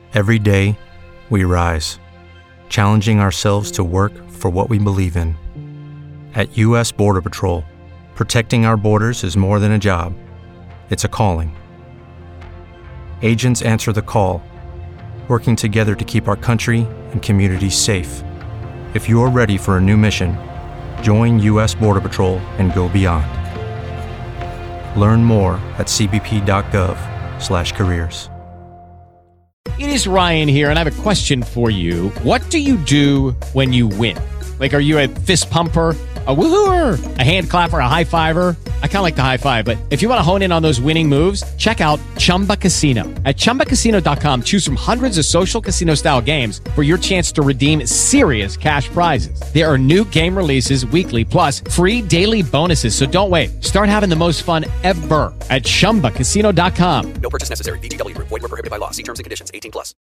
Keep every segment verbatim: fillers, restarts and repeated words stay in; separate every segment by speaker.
Speaker 1: Every day, we rise, challenging ourselves to work for what we believe in. At U S Border Patrol, protecting our borders is more than a job, it's a calling. Agents answer the call, working together to keep our country and communities safe. If you're ready for a new mission, join U S Border Patrol and go beyond. Learn more at c b p dot gov slash careers.
Speaker 2: It is Ryan here, and I have a question for you. What do you do when you win? Like, are you a fist pumper, a woohooer, a hand clapper, a high fiver? I kind of like the high five, but if you want to hone in on those winning moves, check out Chumba Casino. At chumba casino dot com, choose from hundreds of social casino-style games for your chance to redeem serious cash prizes. There are new game releases weekly, plus free daily bonuses, so don't wait. Start having the most fun ever at chumba casino dot com.
Speaker 3: No purchase necessary. V G W Group. Void where prohibited by law. See terms and conditions. eighteen plus.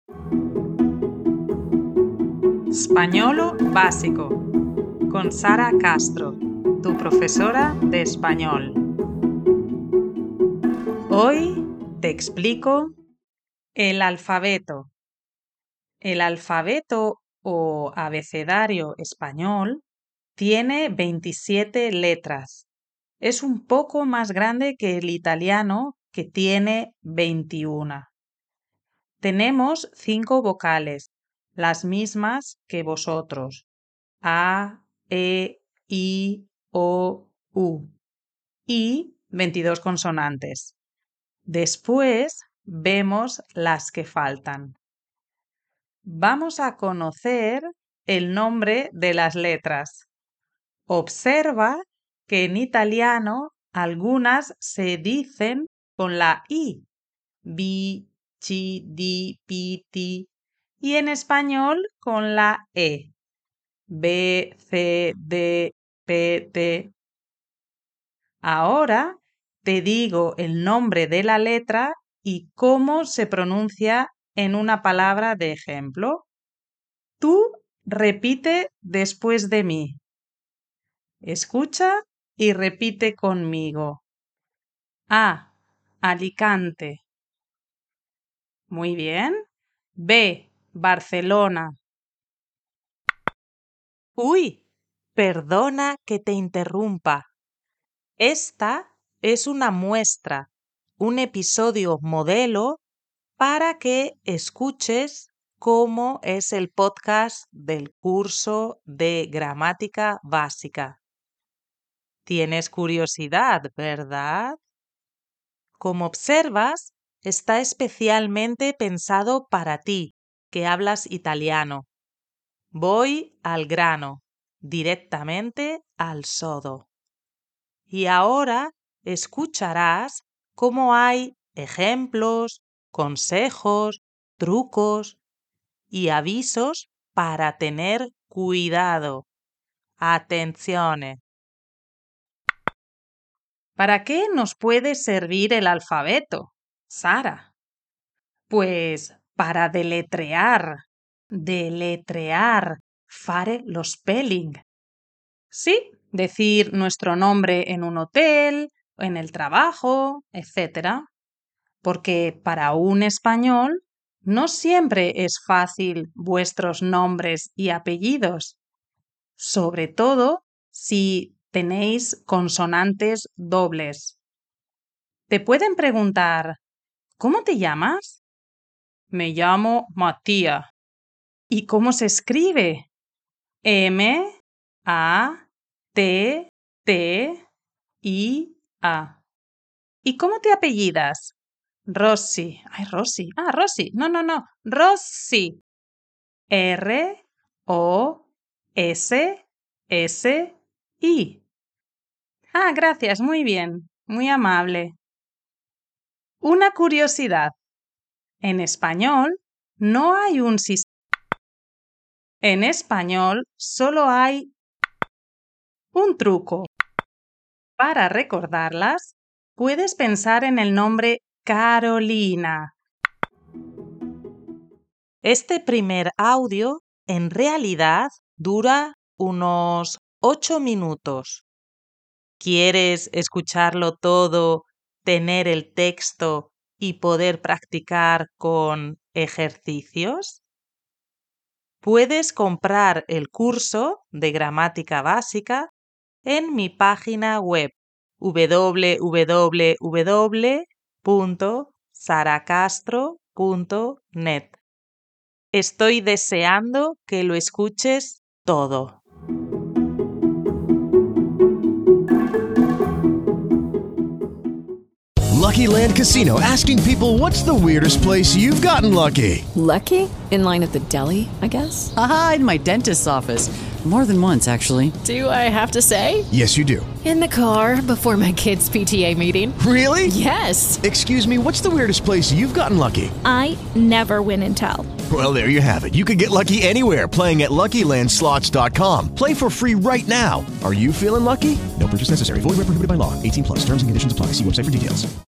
Speaker 4: Españolo básico con Sara Castro, tu profesora de español. Hoy te explico el alfabeto. El alfabeto o abecedario español tiene veintisiete letras. Es un poco más grande que el italiano, que tiene veintiuna. Tenemos cinco vocales, las mismas que vosotros: A, E, I, O, U, y veintidós consonantes. Después vemos las que faltan. Vamos a conocer el nombre de las letras. Observa que en italiano algunas se dicen con la I, bi, chi, di, pi, ti, y en español con la E, B, C, D, P, T. Ahora te digo el nombre de la letra y cómo se pronuncia en una palabra de ejemplo. Tú repite después de mí. Escucha y repite conmigo. A, Alicante. Muy bien. B, Barcelona. Uy, perdona que te interrumpa. Esta es una muestra, un episodio modelo para que escuches cómo es el podcast del curso de gramática básica. Tienes curiosidad, ¿verdad? Como observas, está especialmente pensado para ti, que hablas italiano. Voy al grano, directamente al sodo. Y ahora escucharás cómo hay ejemplos, consejos, trucos y avisos para tener cuidado. Atención. ¿Para qué nos puede servir el alfabeto, Sara? Pues para deletrear, deletrear, fare lo spelling. Sí, decir nuestro nombre en un hotel, en el trabajo, etcétera. Porque para un español no siempre es fácil vuestros nombres y apellidos, sobre todo si tenéis consonantes dobles. Te pueden preguntar: ¿cómo te llamas? Me llamo Matías. ¿Y cómo se escribe? M, A, T, T, I, A. ¿Y cómo te apellidas? Rossi. Ay, Rossi. Ah, Rossi. No, no, no. Rossi. R, O, S, S, I. Ah, gracias. Muy bien. Muy amable. Una curiosidad. En español no hay un sistema. En español solo hay un truco. Para recordarlas, puedes pensar en el nombre Carolina. Este primer audio en realidad dura unos ocho minutos. ¿Quieres escucharlo todo, tener el texto y poder practicar con ejercicios? Puedes comprar el curso de gramática básica en mi página web w w w punto sara castro punto net. Estoy deseando que lo escuches todo.
Speaker 5: Lucky Land Casino, asking people, what's the weirdest place you've gotten lucky?
Speaker 6: Lucky? In line at the deli, I guess?
Speaker 7: Aha, in my dentist's office. More than once, actually.
Speaker 6: Do I have to say?
Speaker 5: Yes, you do.
Speaker 6: In the car before my kids' P T A meeting.
Speaker 5: Really?
Speaker 6: Yes.
Speaker 5: Excuse me, what's the weirdest place you've gotten lucky?
Speaker 8: I never win and tell.
Speaker 5: Well, there you have it. You can get lucky anywhere, playing at Lucky Land Slots dot com. Play for free right now. Are you feeling lucky? No purchase necessary. Void where prohibited by law. eighteen plus. Terms and conditions apply. See website for details.